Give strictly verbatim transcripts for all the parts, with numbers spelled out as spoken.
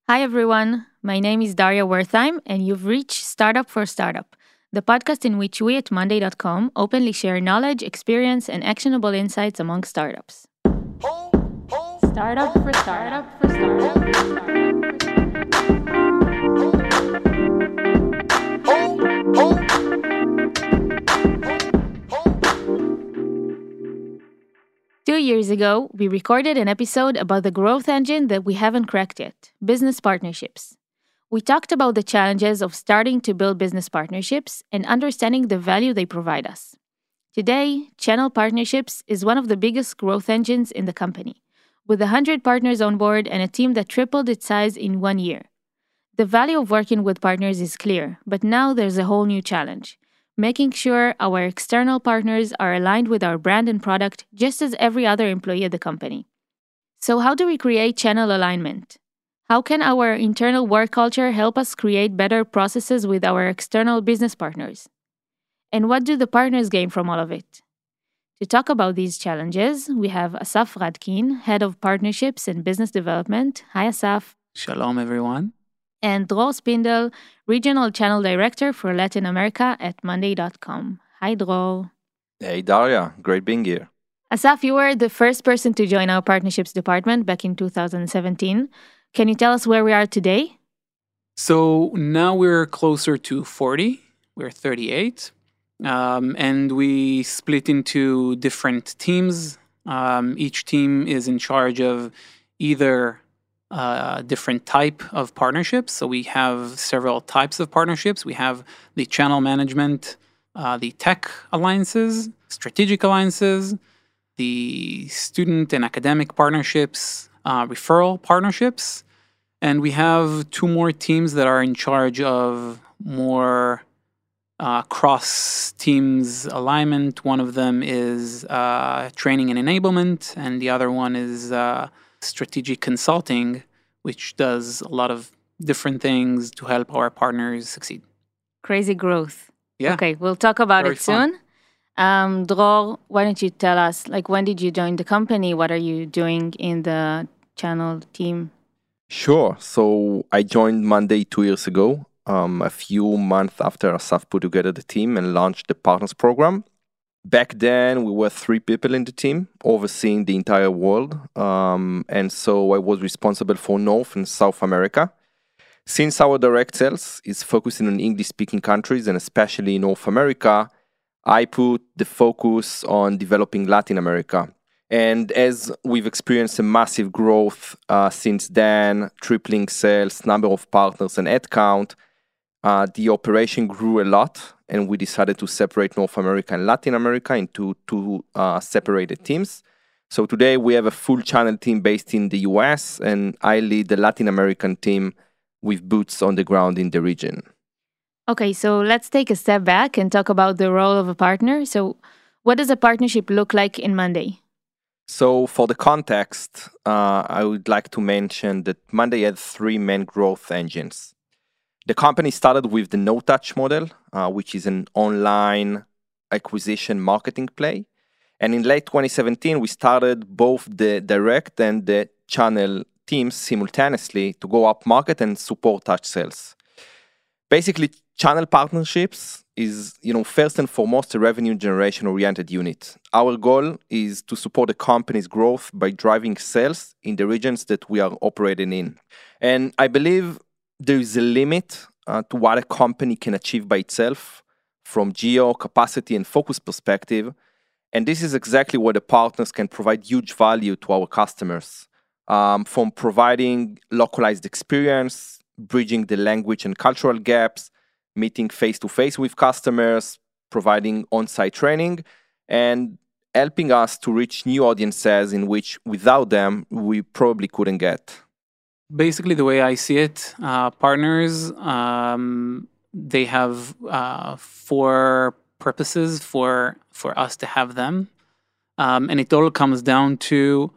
Hi, everyone. My name is Daria Wertheim, and you've reached Startup for Startup, the podcast in which we at Monday dot com openly share knowledge, experience, and actionable insights among startups. Startup for Startup for Startup. Two years ago, we recorded an episode about the growth engine that we haven't cracked yet, business partnerships. We talked about the challenges of starting to build business partnerships and understanding the value they provide us. Today, channel partnerships is one of the biggest growth engines in the company, with one hundred partners on board and a team that tripled its size in one year. The value of working with partners is clear, but now there's a whole new challenge. Making sure our external partners are aligned with our brand and product just as every other employee at the company. So how do we create channel alignment? How can our internal work culture help us create better processes with our external business partners? And what do the partners gain from all of it? To talk about these challenges, we have Asaf Radkin, Head of Partnerships and Business Development. Hi, Asaf. Shalom, everyone. And Dror Spindel, Regional Channel Director for Latin America at Monday dot com. Hi, Dror. Hey, Daria. Great being here. Asaf, you were the first person to join our partnerships department back in two thousand seventeen. Can you tell us where we are today? So now we're closer to forty. We're thirty-eight. Um, and we split into different teams. Um, each team is in charge of either a different type of partnerships. So we have several types of partnerships. We have the channel management, uh, the tech alliances, strategic alliances, the student and academic partnerships, uh, referral partnerships. And we have two more teams that are in charge of more uh, cross teams alignment. One of them is uh, training and enablement, and the other one is uh, strategic consulting, which does a lot of different things to help our partners succeed. Crazy growth. Yeah. Okay, we'll talk about Very it soon. Um, Dror, why don't you tell us, like, when did you join the company? What are you doing in the channel team? Sure. So I joined Monday two years ago, um, a few months after Asaf put together the team and launched the Partners Program. Back then, we were three people in the team, overseeing the entire world. Um, and so I was responsible for North and South America. Since our direct sales is focusing on English-speaking countries, and especially North America, I put the focus on developing Latin America. And as we've experienced a massive growth uh, since then, tripling sales, number of partners, and head count, uh, the operation grew a lot. And we decided to separate North America and Latin America into two uh, separated teams. So today we have a full channel team based in the U S, and I lead the Latin American team with boots on the ground in the region. Okay, so let's take a step back and talk about the role of a partner. So what does a partnership look like in Monday? So for the context, uh, I would like to mention that Monday had three main growth engines. The company started with the no-touch model, uh, which is an online acquisition marketing play. And in late twenty seventeen, we started both the direct and the channel teams simultaneously to go up market and support touch sales. Basically, channel partnerships is, you know, first and foremost a revenue generation oriented unit. Our goal is to support the company's growth by driving sales in the regions that we are operating in. And I believe there is a limit uh, to what a company can achieve by itself from geo, capacity, and focus perspective. And this is exactly where the partners can provide huge value to our customers, um, from providing localized experience, bridging the language and cultural gaps, meeting face-to-face with customers, providing on-site training, and helping us to reach new audiences in which without them, we probably couldn't get. Basically, the way I see it, uh, partners, um, they have uh, four purposes for for us to have them. Um, and it all comes down to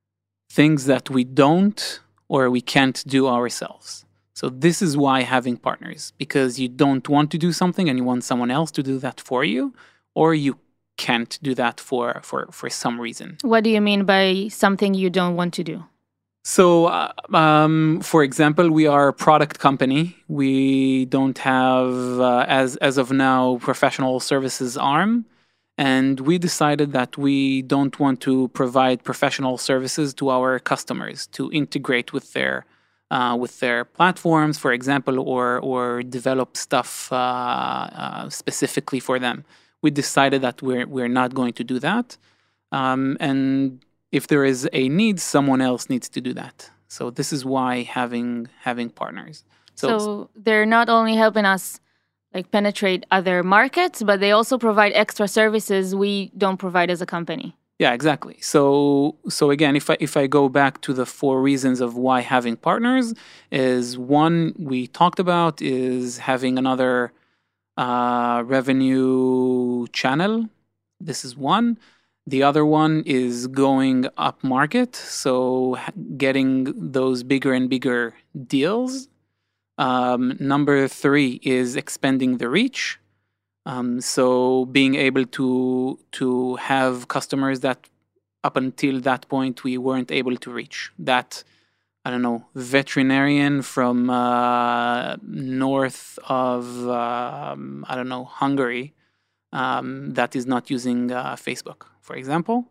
things that we don't or we can't do ourselves. So this is why having partners, because you don't want to do something and you want someone else to do that for you, or you can't do that for, for, for some reason. What do you mean by something you don't want to do? So, uh, um, for example, we are a product company. We don't have, uh, as as of now, professional services arm, and we decided that we don't want to provide professional services to our customers to integrate with their uh, with their platforms, for example, or or develop stuff uh, uh, specifically for them. We decided that we're we're not going to do that, um, and if there is a need, someone else needs to do that. So this is why having having partners. So, so they're not only helping us like penetrate other markets, but they also provide extra services we don't provide as a company. Yeah, exactly. So so again, if I if I go back to the four reasons of why having partners is one we talked about is having another uh, revenue channel. This is one. The other one is going up market, so getting those bigger and bigger deals. Um, number three is expanding the reach. Um, so being able to to have customers that up until that point we weren't able to reach. That, I don't know, veterinarian from uh, north of, um, I don't know, Hungary um, that is not using uh, Facebook, for example.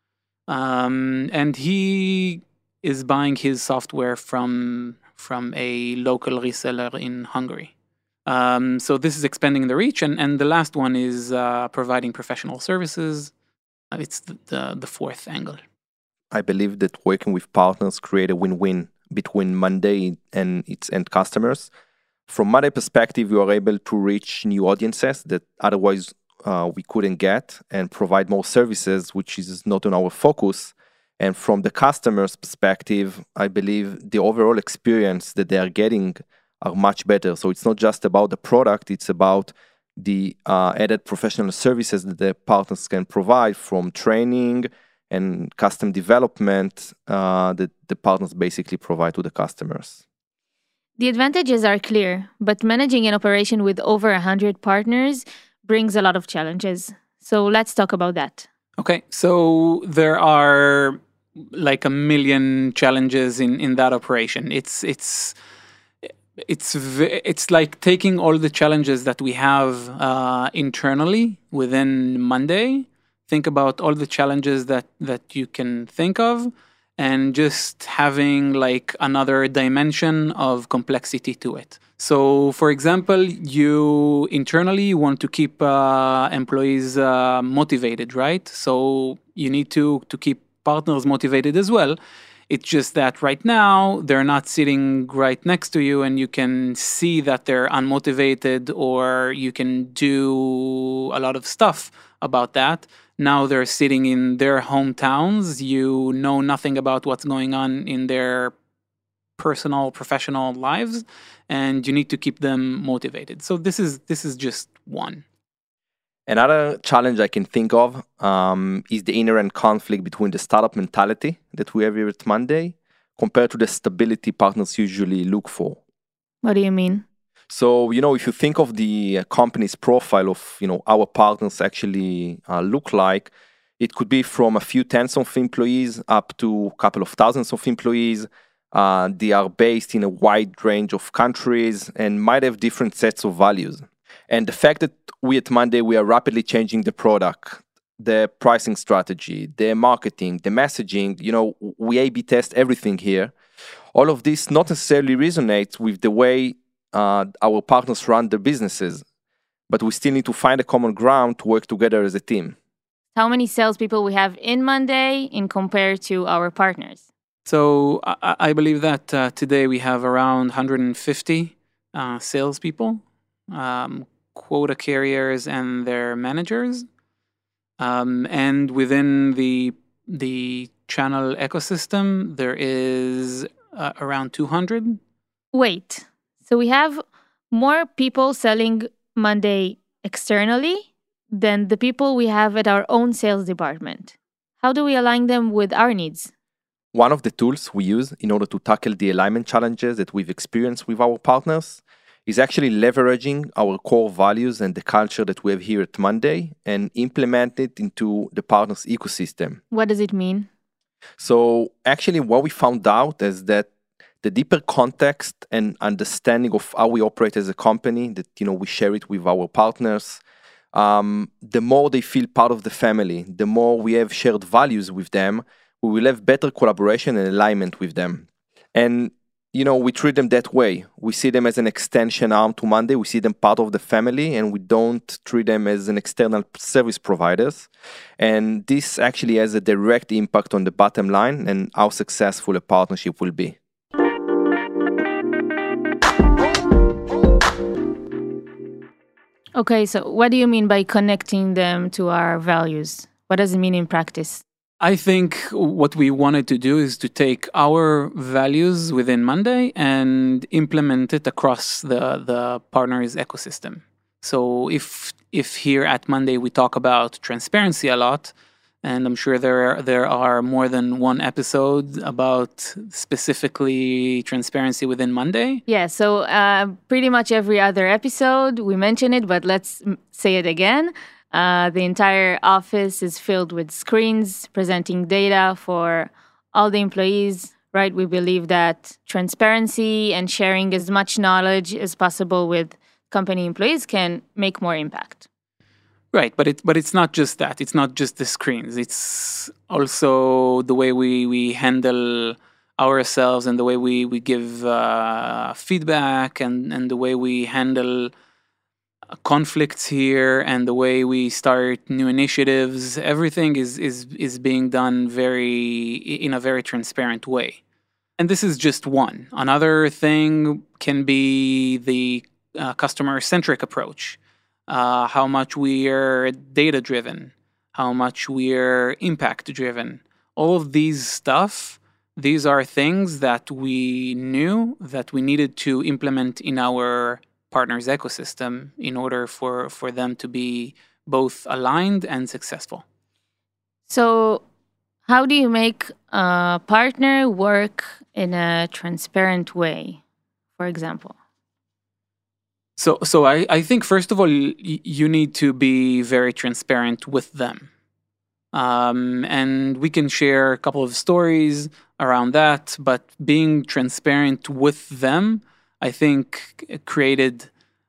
Um, and he is buying his software from from a local reseller in Hungary. Um, so this is expanding the reach. And, and the last one is uh, providing professional services. It's the, the, the fourth angle. I believe that working with partners create a win-win between Monday and its end customers. From Monday perspective, you are able to reach new audiences that otherwise uh, we couldn't get and provide more services, which is not on our focus. And from the customer's perspective, I believe the overall experience that they are getting are much better. So it's not just about the product, it's about the uh, added professional services that the partners can provide, from training and custom development uh, that the partners basically provide to the customers. The advantages are clear, but managing an operation with over one hundred partners brings a lot of challenges. So let's talk about that. Okay, so there are like a million challenges in, in that operation. It's it's it's it's like taking all the challenges that we have uh, internally within Monday. Think about all the challenges that that you can think of, and just having like another dimension of complexity to it. So, for example, you internally want to keep uh, employees uh, motivated, right? So you need to to keep partners motivated as well. It's just that right now they're not sitting right next to you, and you can see that they're unmotivated, or you can do a lot of stuff about that. Now they're sitting in their hometowns. You know nothing about what's going on in their personal, professional lives, and you need to keep them motivated. So this is this is just one. Another challenge I can think of um, is the inherent conflict between the startup mentality that we have here at Monday compared to the stability partners usually look for. What do you mean? So, you know, if you think of the company's profile of, you know, our partners actually uh, look like, it could be from a few tens of employees up to a couple of thousands of employees. Uh, they are based in a wide range of countries and might have different sets of values. And the fact that we at Monday, we are rapidly changing the product, the pricing strategy, the marketing, the messaging, you know, we A B test everything here. All of this not necessarily resonates with the way uh, our partners run their businesses, but we still need to find a common ground to work together as a team. How many salespeople we have in Monday in compared to our partners? So I, I believe that uh, today we have around one hundred fifty uh, salespeople, um, quota carriers and their managers. Um, and within the the channel ecosystem, there is uh, around two hundred. Wait, so we have more people selling Monday externally than the people we have at our own sales department. How do we align them with our needs? One of the tools we use in order to tackle the alignment challenges that we've experienced with our partners is actually leveraging our core values and the culture that we have here at Monday and implement it into the partners' ecosystem. What does it mean? So actually what we found out is that the deeper context and understanding of how we operate as a company, that, you know, we share it with our partners, um, the more they feel part of the family, the more we have shared values with them, we will have better collaboration and alignment with them. And, you know, we treat them that way. We see them as an extension arm to Monday. We see them part of the family, and we don't treat them as an external service providers. And this actually has a direct impact on the bottom line and how successful a partnership will be. Okay, so what do you mean by connecting them to our values? What does it mean in practice? I think what we wanted to do is to take our values within Monday and implement it across the, the partners' ecosystem. So if if here at Monday we talk about transparency a lot, and I'm sure there there are more than one episode about specifically transparency within Monday. Yeah, so uh, pretty much every other episode we mention it, but let's say it again. Uh, the entire office is filled with screens presenting data for all the employees, right? We believe that transparency and sharing as much knowledge as possible with company employees can make more impact. Right, but it but it's not just that. It's not just the screens. It's also the way we, we handle ourselves and the way we, we give uh, feedback and, and the way we handle conflicts here and the way we start new initiatives. Everything is, is, is being done very in a very transparent way. And this is just one. Another thing can be the uh, customer-centric approach. Uh, how much we're data-driven, how much we're impact-driven. All of these stuff, these are things that we knew that we needed to implement in our partners' ecosystem in order for, for them to be both aligned and successful. So how do you make a partner work in a transparent way, for example? So, so I, I think, first of all, y- you need to be very transparent with them. Um, and we can share a couple of stories around that, but being transparent with them, I think, created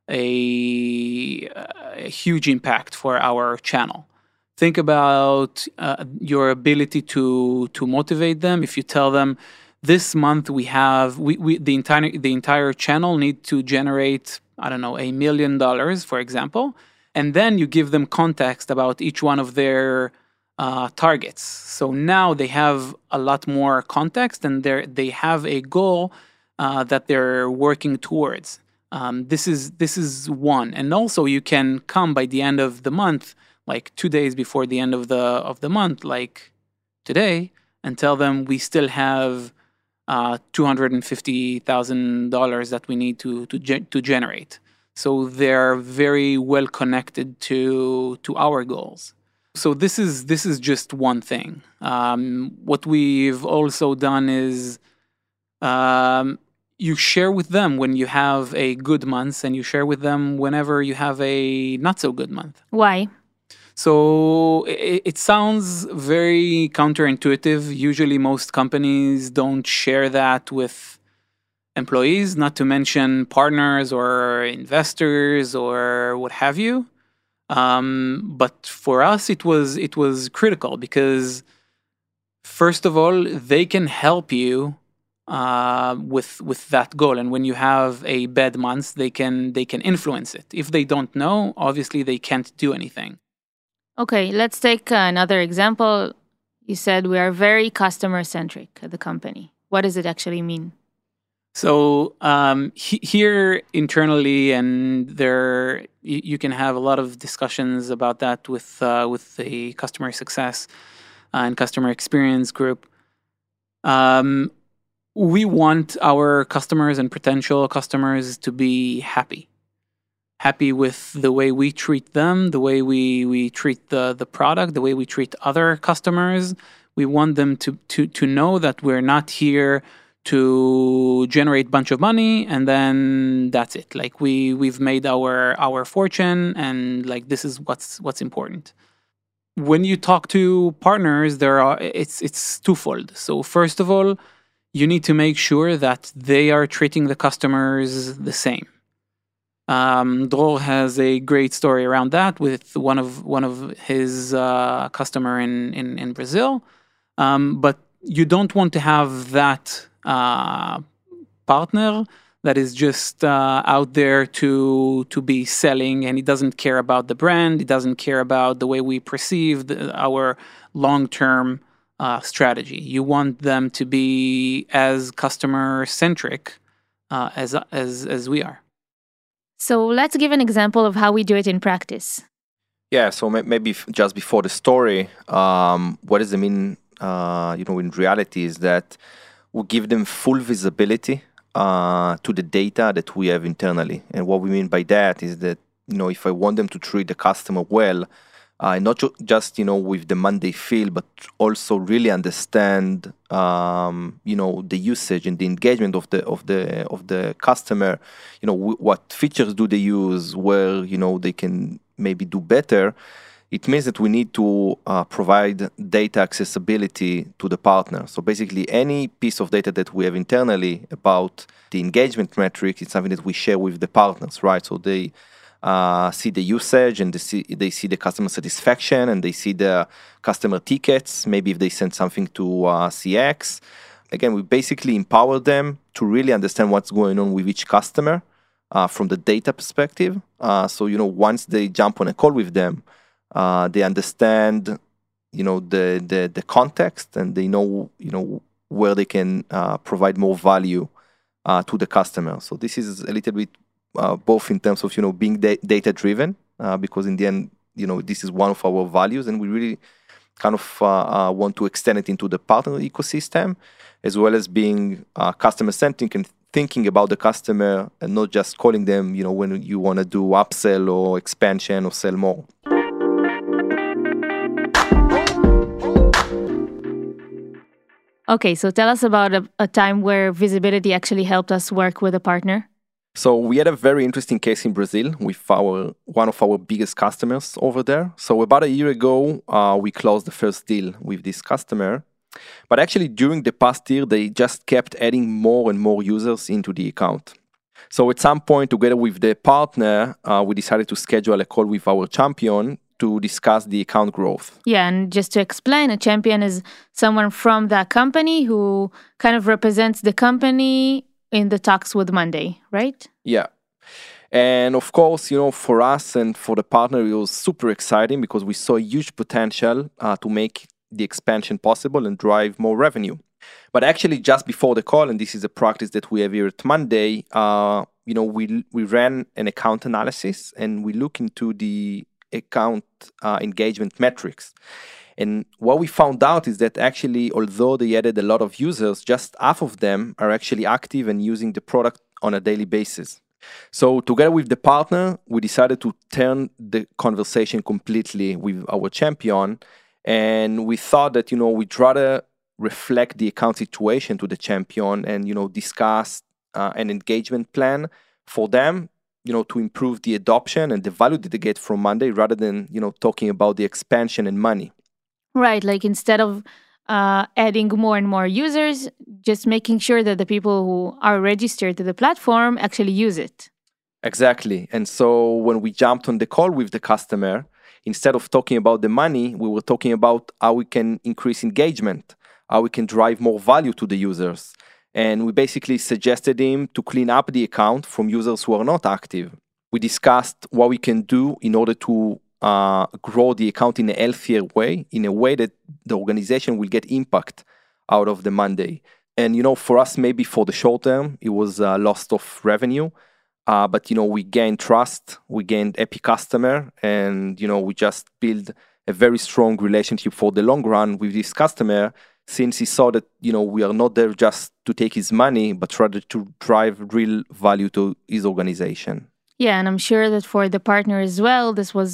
a, a huge impact for our channel. Think about uh, your ability to to motivate them. If you tell them, this month we have we, we the entire the entire channel need to generate, I don't know, a million dollars, for example, and then you give them context about each one of their uh, targets. So now they have a lot more context, and they they have a goal uh, that they're working towards. Um, this is this is one, and also you can come by the end of the month, like two days before the end of the of the month, like today, and tell them we still have uh, two hundred and fifty thousand dollars that we need to to ge- to generate. So they're very well connected to to our goals. So this is this is just one thing. Um, what we've also done is um, you share with them when you have a good month, and you share with them whenever you have a not so good month. Why? So it, it sounds very counterintuitive. Usually most companies don't share that with employees, not to mention partners or investors or what have you. Um, but for us, it was it was critical because, first of all, they can help you uh, with with that goal. And when you have a bad month, they can they can influence it. If they don't know, obviously they can't do anything. Okay, let's take another example. You said we are very customer-centric at the company. What does it actually mean? So um, he, here internally, and there you, you can have a lot of discussions about that with uh, with the customer success and customer experience group. Um, we want our customers and potential customers to be happy. Happy with the way we treat them, the way we, we treat the, the product, the way we treat other customers. We want them to, to, to know that we're not here to generate a bunch of money and then that's it. Like we, we've made our our fortune and like this is what's what's important. when you talk to partners, there are it's it's twofold. So first of all, you need to make sure that they are treating the customers the same. Um, Dror has a great story around that with one of one of his uh, customer in in, in Brazil. Um, but you don't want to have that uh, partner that is just uh, out there to to be selling, and he doesn't care about the brand. He doesn't care about the way we perceive the, our long-term uh, strategy. You want them to be as customer-centric uh, as as as we are. So let's give an example of how we do it in practice. Yeah, so may- maybe f- just before the story, um, what does it mean, uh, you know, in reality is that we give them full visibility uh, to the data that we have internally. And what we mean by that is that, you know, if I want them to treat the customer well, uh, not ju- just, you know, with the Monday feel, but also really understand, um, you know, the usage and the engagement of the of the of the customer. You know, w- what features do they use, where, you know, they can maybe do better. It means that we need to uh, provide data accessibility to the partner. So basically, any piece of data that we have internally about the engagement metric is something that we share with the partners, right? So they uh, see the usage and they see, they see the customer satisfaction and they see the customer tickets, maybe if they send something to uh, C X. Again, we basically empower them to really understand what's going on with each customer uh, from the data perspective. Uh, so, you know, once they jump on a call with them, Uh, they understand, you know, the, the the context, and they know, you know, where they can uh, provide more value uh, to the customer. So this is a little bit uh, both in terms of, you know, being da- data driven, uh, because in the end, you know, this is one of our values, and we really kind of uh, uh, want to extend it into the partner ecosystem, as well as being uh, customer centric and thinking about the customer and not just calling them, you know, when you want to do upsell or expansion or sell more. Okay, so tell us about a, a time where visibility actually helped us work with a partner. So we had a very interesting case in Brazil with our one of our biggest customers over there. So about a year ago, uh, we closed the first deal with this customer. But actually, during the past year, they just kept adding more and more users into the account. So at some point, together with the partner, uh, we decided to schedule a call with our champion to discuss the account growth. Yeah, and just to explain, a champion is someone from that company who kind of represents the company in the talks with Monday, right? Yeah. And of course, you know, for us and for the partner, it was super exciting because we saw huge potential uh, to make the expansion possible and drive more revenue. But actually, just before the call, and this is a practice that we have here at Monday, uh, you know, we we ran an account analysis and we look into the account uh, engagement metrics. And what we found out is that actually, although they added a lot of users, just half of them are actually active and using the product on a daily basis. So together with the partner, we decided to turn the conversation completely with our champion. And we thought that, you know, we'd rather reflect the account situation to the champion and, you know, discuss uh, an engagement plan for them, you know, to improve the adoption and the value that they get from Monday rather than, you know, talking about the expansion and money. Right, like instead of uh, adding more and more users, just making sure that the people who are registered to the platform actually use it. Exactly. And so when we jumped on the call with the customer, instead of talking about the money, we were talking about how we can increase engagement, how we can drive more value to the users. And we basically suggested him to clean up the account from users who are not active. We discussed what we can do in order to uh, grow the account in a healthier way, in a way that the organization will get impact out of the Monday. And, you know, for us, maybe for the short term, it was a loss of revenue. Uh, but, you know, we gained trust, we gained happy customer, and, you know, we just build a very strong relationship for the long run with this customer, since he saw that, you know, we are not there just to take his money, but rather to drive real value to his organization. Yeah, and I'm sure that for the partner as well, this was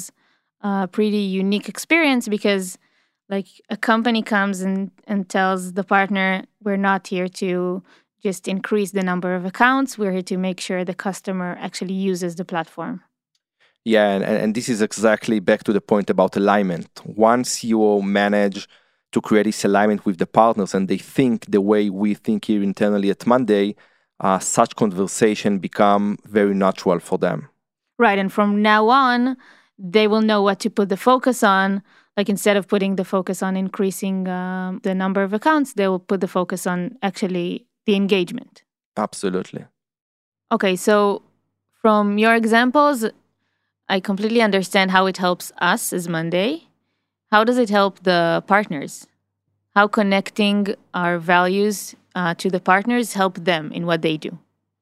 a pretty unique experience because, like, a company comes and, and tells the partner, we're not here to just increase the number of accounts. We're here to make sure the customer actually uses the platform. Yeah, and, and this is exactly back to the point about alignment. Once you manage to create this alignment with the partners and they think the way we think here internally at Monday, uh, such conversation become very natural for them. Right. And from now on, they will know what to put the focus on. Like instead of putting the focus on increasing um, the number of accounts, they will put the focus on actually the engagement. Absolutely. Okay, so from your examples, I completely understand how it helps us as Monday. How does it help the partners? How connecting our values uh, to the partners help them in what they do?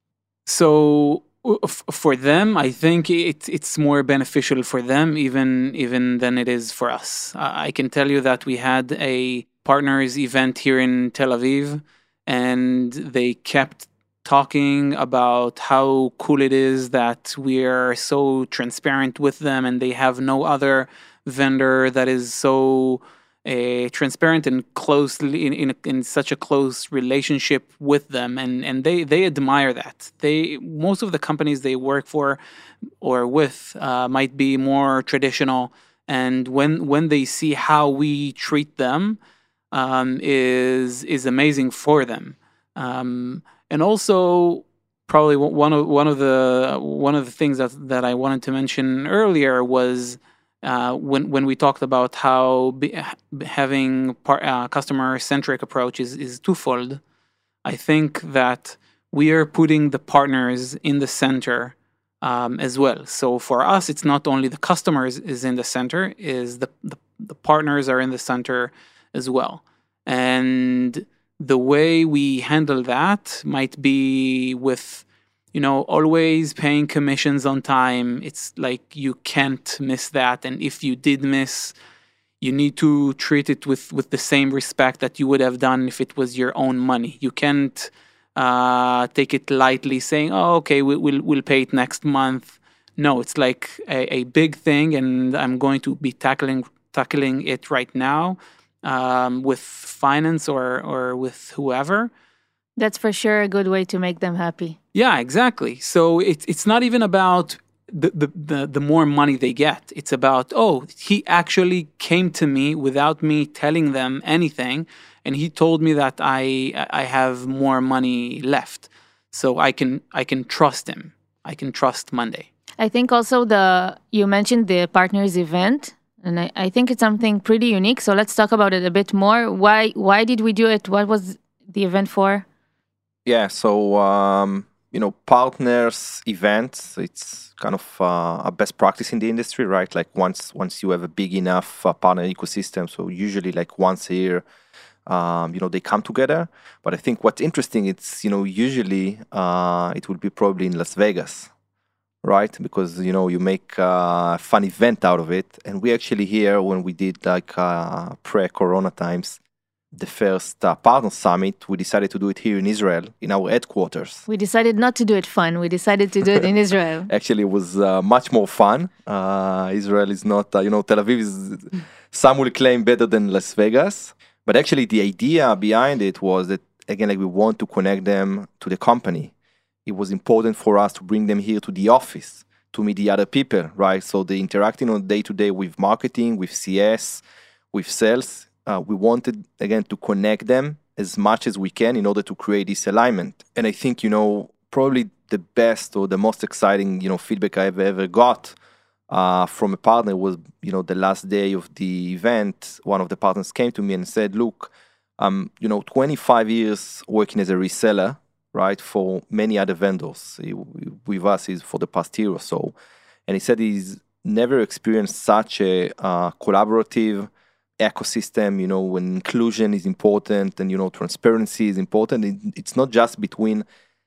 So f- for them, I think it, it's more beneficial for them even even than it is for us. Uh, I can tell you that we had a partners event here in Tel Aviv, and they kept talking about how cool it is that we are so transparent with them, and they have no other vendor that is so uh, transparent and closely in, in in such a close relationship with them, and and they they admire that. They most of the companies they work for or with uh, might be more traditional, and when when they see how we treat them, um, is is amazing for them. Um, and also, probably one of one of the one of the things that, that I wanted to mention earlier was uh, when when we talked about how be, having par, uh, customer centric approach is, is twofold. I think that we are putting the partners in the center um, as well. So for us, it's not only the customers is in the center, is the the, the partners are in the center as well, and the way we handle that might be with, you know, always paying commissions on time. It's like you can't miss that. And if you did miss, you need to treat it with, with the same respect that you would have done if it was your own money. You can't uh, take it lightly saying, oh, okay, we, we'll, we'll pay it next month. No, it's like a, a big thing, and I'm going to be tackling tackling it right now. Um, with finance or or with whoever. That's for sure a good way to make them happy. Yeah, exactly. So it's it's not even about the, the the the more money they get. It's about, oh, he actually came to me without me telling them anything, and he told me that I I have more money left, so I can I can trust him. I can trust Monday. I think also the you mentioned the partners event. And I, I think it's something pretty unique. So let's talk about it a bit more. Why why did we do it? What was the event for? Yeah, so, um, you know, partners events, it's kind of uh, a best practice in the industry, right? Like once once you have a big enough uh, partner ecosystem, so usually like once a year, um, you know, they come together. But I think what's interesting, it's, you know, usually uh, it will be probably in Las Vegas, right? Because, you know, you make a fun event out of it. And we actually here, when we did like uh, pre-corona times, the first uh, partner summit, we decided to do it here in Israel, in our headquarters. We decided not to do it fun. We decided to do it in Israel. Actually, it was uh, much more fun. Uh, Israel is not, uh, you know, Tel Aviv is, some will claim, better than Las Vegas. But actually, the idea behind it was that, again, like we want to connect them to the company. It was important for us to bring them here to the office to meet the other people, right? So they interacting on day to day with marketing, with C S, with sales. Uh, we wanted, again, to connect them as much as we can in order to create this alignment. And I think, you know, probably the best or the most exciting, you know, feedback I've ever got uh, from a partner was, you know, the last day of the event, one of the partners came to me and said, look, um, you know, twenty-five years working as a reseller, right, for many other vendors. He, with us is for the past year or so. And he said he's never experienced such a uh, collaborative ecosystem, you know, when inclusion is important and, you know, transparency is important. It, it's not just between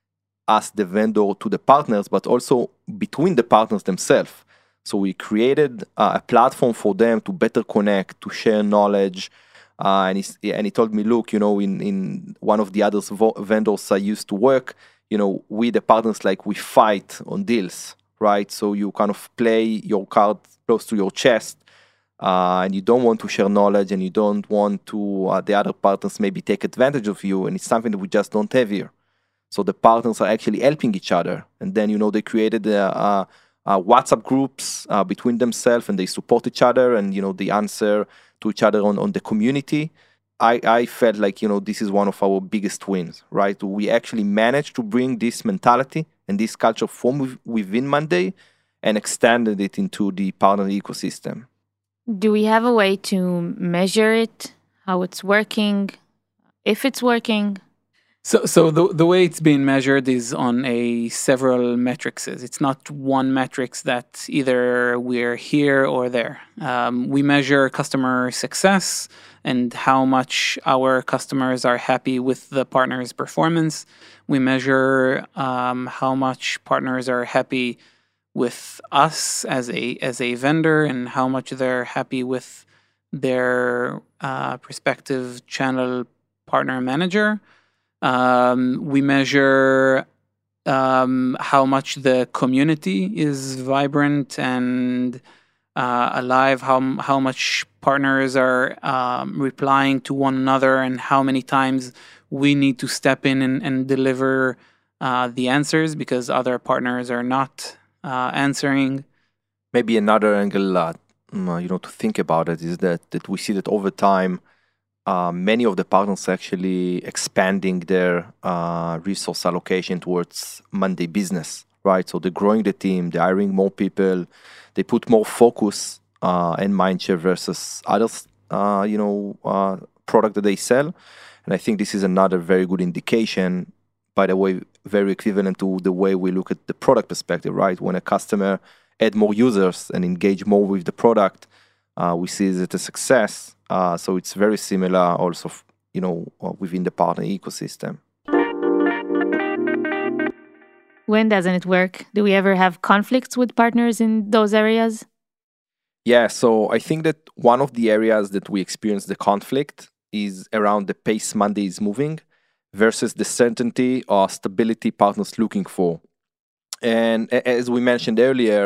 us, the vendor, to the partners, but also between the partners themselves. So we created uh, a platform for them to better connect, to share knowledge. Uh, and, he, and he told me, look, you know, in, in one of the other vo- vendors I used to work, you know, we, the partners, like we fight on deals, right? So you kind of play your card close to your chest. Uh, and you don't want to share knowledge, and you don't want to uh, the other partners maybe take advantage of you, and it's something that we just don't have here. So the partners are actually helping each other, and then, you know, they created a, a, uh, WhatsApp groups uh, between themselves, and they support each other, and, you know, they answer to each other on, on the community. I, I felt like, you know, this is one of our biggest wins, right? We actually managed to bring this mentality and this culture from within Monday and extended it into the partner ecosystem. Do we have a way to measure it, how it's working, if it's working? So, so the the way it's being measured is on a several metrics. It's not one metrics that either we're here or there. Um, we measure customer success and how much our customers are happy with the partner's performance. We measure um, how much partners are happy with us as a as a vendor and how much they're happy with their uh, prospective channel partner manager. Um, we measure um, how much the community is vibrant and uh, alive, how how much partners are um, replying to one another, and how many times we need to step in and, and deliver uh, the answers because other partners are not uh, answering. Maybe another angle, uh, you know, to think about it is that that we see that over time, Uh, many of the partners actually expanding their uh, resource allocation towards Monday business, right? So they're growing the team, they're hiring more people, they put more focus uh, and mindshare versus others, uh, you know, uh, product that they sell. And I think this is another very good indication, by the way, very equivalent to the way we look at the product perspective, right? When a customer add more users and engage more with the product, uh, we see it as a success. Uh, so it's very similar also, you know, within the partner ecosystem. When doesn't it work? Do we ever have conflicts with partners in those areas? Yeah, so I think that one of the areas that we experience the conflict is around the pace Monday is moving versus the certainty or stability partners looking for. And as we mentioned earlier,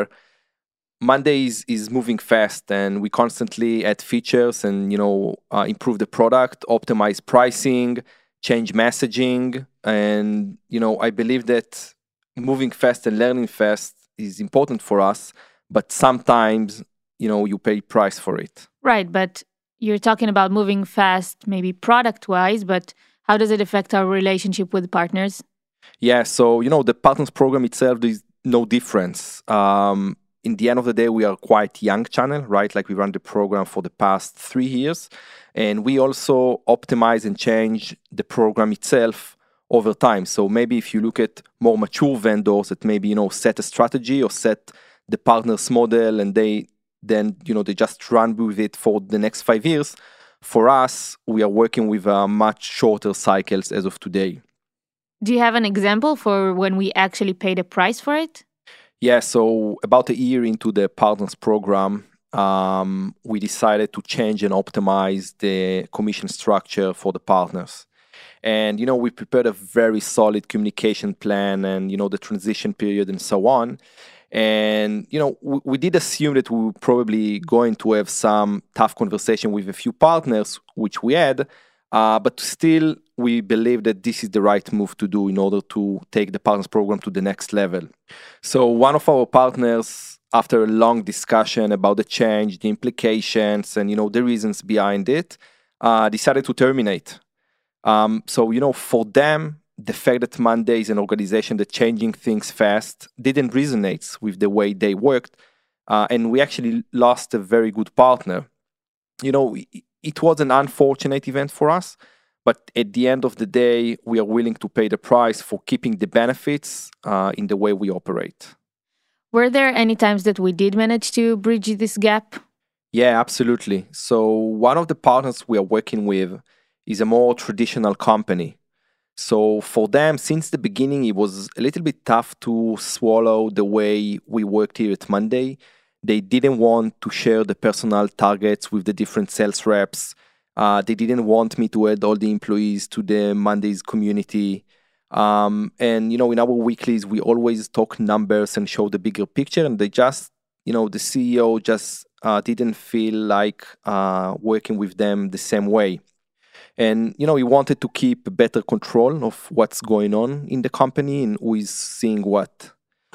Monday is, is moving fast, and we constantly add features and, you know, uh, improve the product, optimize pricing, change messaging. And, you know, I believe that moving fast and learning fast is important for us, but sometimes, you know, you pay price for it. Right, but you're talking about moving fast, maybe product-wise, but how does it affect our relationship with partners? Yeah, so, you know, the partners program itself is no difference. Um, In the end of the day, we are quite young channel, right? Like we run the program for the past three years. And we also optimize and change the program itself over time. So maybe if you look at more mature vendors that maybe, you know, set a strategy or set the partners model and they then, you know, they just run with it for the next five years. For us, we are working with uh, much shorter cycles as of today. Do you have an example for when we actually paid a price for it? Yeah, so about a year into the partners program, um, we decided to change and optimize the commission structure for the partners. And, you know, we prepared a very solid communication plan and, you know, the transition period and so on. And, you know, we, we did assume that we were probably going to have some tough conversation with a few partners, which we had. Uh, but still, we believe that this is the right move to do in order to take the partners program to the next level. So one of our partners, after a long discussion about the change, the implications, and, you know, the reasons behind it, uh, decided to terminate. Um, so, you know, for them, the fact that Monday is an organization that changing things fast didn't resonate with the way they worked. Uh, and we actually lost a very good partner. You know, it was an unfortunate event for us, but at the end of the day, we are willing to pay the price for keeping the benefits uh, in the way we operate. Were there any times that we did manage to bridge this gap? Yeah, absolutely. So one of the partners we are working with is a more traditional company. So for them, since the beginning, it was a little bit tough to swallow the way we worked here at Monday. They didn't want to share the personal targets with the different sales reps. Uh, they didn't want me to add all the employees to the Mondays community. Um, and, you know, in our weeklies, we always talk numbers and show the bigger picture. And they just, you know, the C E O just uh, didn't feel like uh, working with them the same way. And, you know, he wanted to keep better control of what's going on in the company and who is seeing what.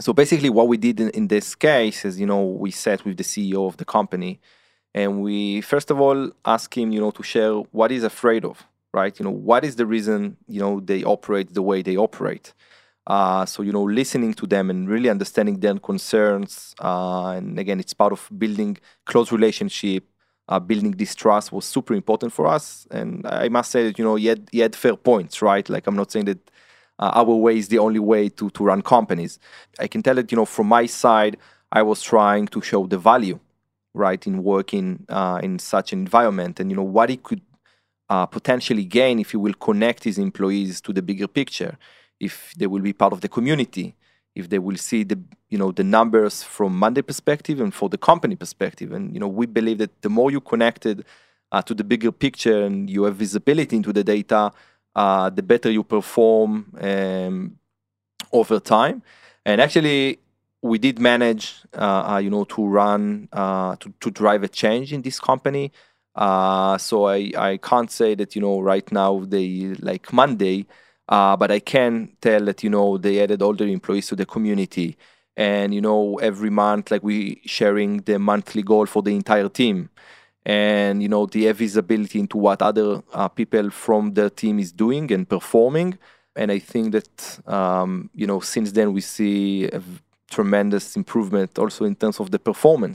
So basically what we did in, in this case is, you know, we sat with the C E O of the company and we, first of all, asked him, you know, to share what he's afraid of, right? You know, what is the reason, you know, they operate the way they operate? Uh, so, you know, listening to them and really understanding their concerns. Uh, and again, it's part of building close relationship, uh, building this trust was super important for us. And I must say that, you know, he had, he had fair points, right? Like, I'm not saying that uh, our way is the only way to, to run companies. I can tell that, you know, from my side, I was trying to show the value, right, in working uh, in such an environment and, you know, what he could uh, potentially gain if he will connect his employees to the bigger picture. If they will be part of the community, if they will see the, you know, the numbers from Monday perspective and for the company perspective. And, you know, we believe that the more you connected uh, to the bigger picture and you have visibility into the data, uh, the better you perform um, over time. And actually, we did manage, uh, uh, you know, to run, uh, to, to drive a change in this company. Uh, so I, I can't say that, you know, right now they like Monday, Uh, but I can tell that, you know, they added all their employees to the community. And, you know, every month, like we sharing the monthly goal for the entire team. And, you know, they have visibility into what other uh, people from their team is doing and performing. And I think that, um, you know, since then we see a tremendous improvement also in terms of the performance.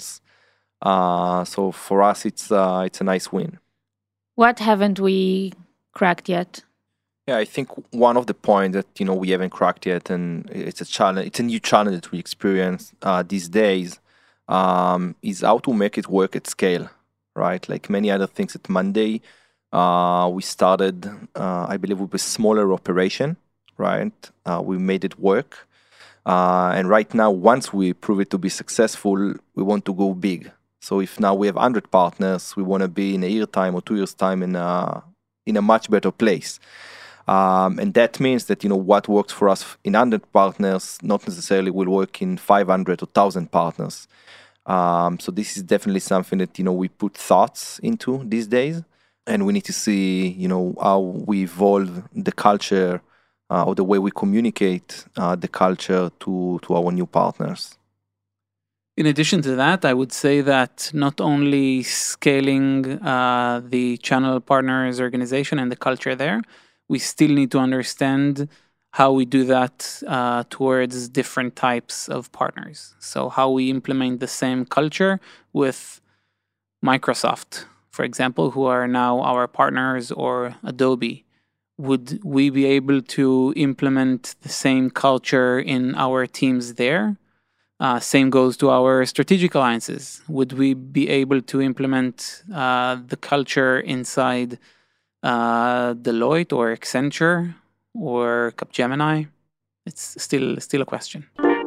Uh, so for us, it's uh, it's a nice win. What haven't we cracked yet? Yeah, I think one of the points that, you know, we haven't cracked yet, and it's a challenge, it's a new challenge that we experience uh, these days, um, is how to make it work at scale, right? Like many other things at Monday, uh, we started, uh, I believe, with a smaller operation, right? Uh, we made it work. Uh, and right now, once we prove it to be successful, we want to go big. So if now we have one hundred partners, we want to be in a year time or two years time in a, in a much better place. Um, and that means that, you know, what works for us in one hundred partners not necessarily will work in five hundred or one thousand partners. Um, so this is definitely something that, you know, we put thoughts into these days. And we need to see, you know, how we evolve the culture uh, or the way we communicate uh, the culture to, to our new partners. In addition to that, I would say that not only scaling uh, the channel partners organization and the culture there, we still need to understand how we do that uh, towards different types of partners. So how we implement the same culture with Microsoft, for example, who are now our partners, or Adobe. Would we be able to implement the same culture in our teams there? Uh, same goes to our strategic alliances. Would we be able to implement uh, the culture inside Uh, Deloitte or Accenture or Capgemini? It's still still a question.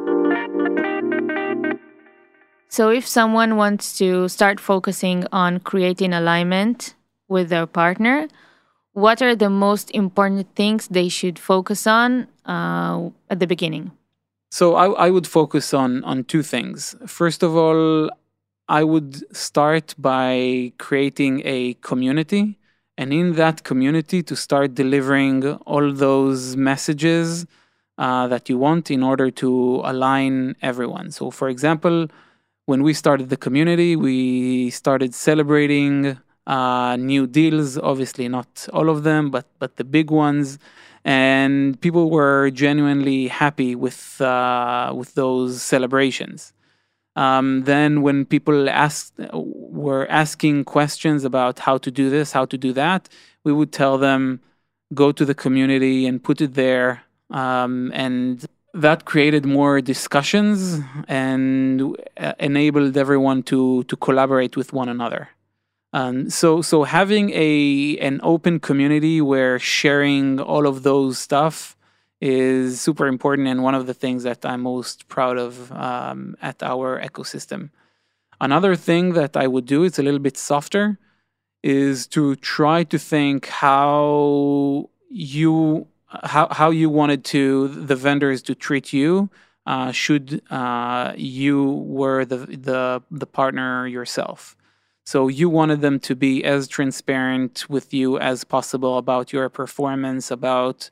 So if someone wants to start focusing on creating alignment with their partner, what are the most important things they should focus on uh, at the beginning? So I, I would focus on, on two things. First of all, I would start by creating a community. And in that community, to start delivering all those messages uh, that you want in order to align everyone. So, for example, when we started the community, we started celebrating uh, new deals. Obviously, not all of them, but but the big ones. And people were genuinely happy with uh, with those celebrations. Um, then when people asked, were asking questions about how to do this, how to do that, we would tell them, go to the community and put it there. Um, and that created more discussions and uh, enabled everyone to, to collaborate with one another. Um, so, so having a, an open community where sharing all of those stuff is super important, and one of the things that I'm most proud of um, at our ecosystem. Another thing that I would do, it's a little bit softer, is to try to think how you how how you wanted to the vendors to treat you uh, should uh, you were the the the partner yourself. So you wanted them to be as transparent with you as possible about your performance, about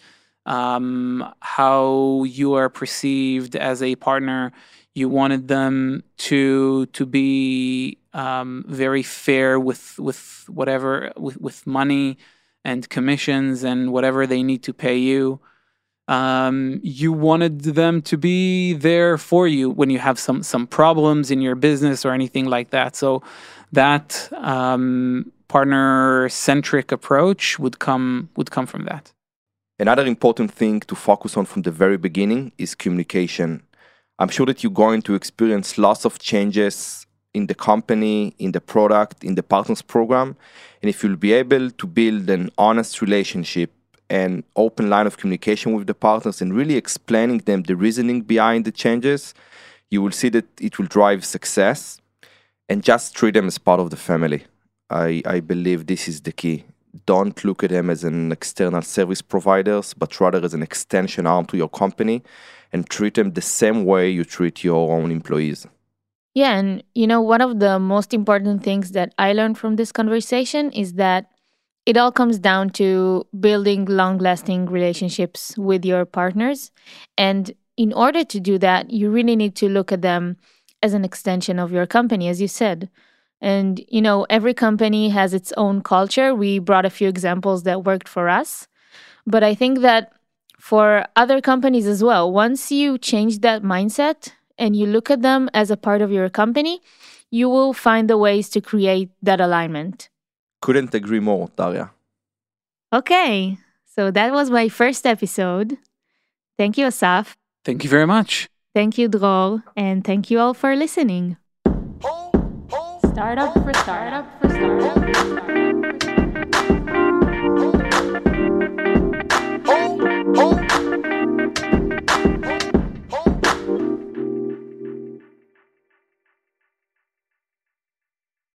um, how you are perceived as a partner. You wanted them to to be um, very fair with with whatever with, with money and commissions and whatever they need to pay you. Um, you wanted them to be there for you when you have some some problems in your business or anything like that. So that um, partner-centric approach would come would come from that. Another important thing to focus on from the very beginning is communication. I'm sure that you're going to experience lots of changes in the company, in the product, in the partners program. And if you'll be able to build an honest relationship and open line of communication with the partners and really explaining them the reasoning behind the changes, you will see that it will drive success, and just treat them as part of the family. I, I believe this is the key. Don't look at them as an external service providers, but rather as an extension arm to your company, and treat them the same way you treat your own employees. Yeah, and you know, one of the most important things that I learned from this conversation is that it all comes down to building long-lasting relationships with your partners. And in order to do that, you really need to look at them as an extension of your company, as you said. And, you know, every company has its own culture. We brought a few examples that worked for us. But I think that for other companies as well, once you change that mindset and you look at them as a part of your company, you will find the ways to create that alignment. Couldn't agree more, Daria. Okay, so that was my first episode. Thank you, Asaf. Thank you very much. Thank you, Dror. And thank you all for listening. Startup for startup for startup.